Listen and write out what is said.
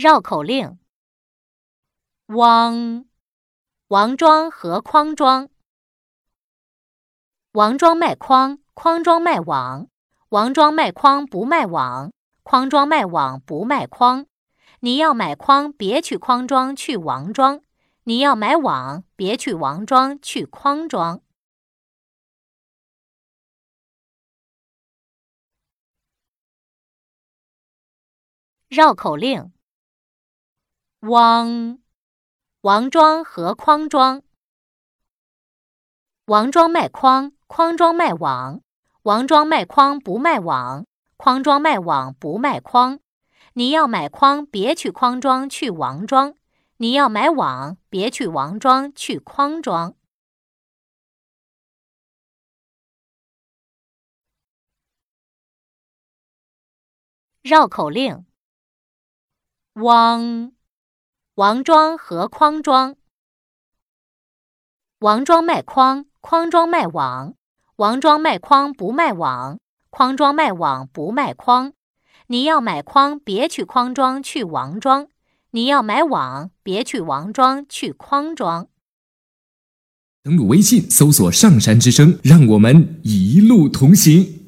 绕口令：汪，王庄和匡庄。王庄卖匡，匡庄卖网。王庄卖匡不卖网，匡庄卖网不卖匡。你要买匡，别去匡庄，去王庄；你要买网，别去王庄，去匡庄。绕口令：汪，王庄和匡庄。王庄卖匡，匡庄卖网。王庄卖匡不卖网，匡庄卖网不卖匡。你要买匡，别去匡庄，去王庄；你要买网，别去王庄，去匡庄。绕口令：汪，王庄和匡庄。王庄卖匡，匡庄卖网。王庄卖匡不卖网，匡庄卖网不卖匡。你要买匡，别去匡庄，去王庄；你要买网，别去王庄，去匡庄。 登录微信，搜索“上山之声”，让我们一路同行。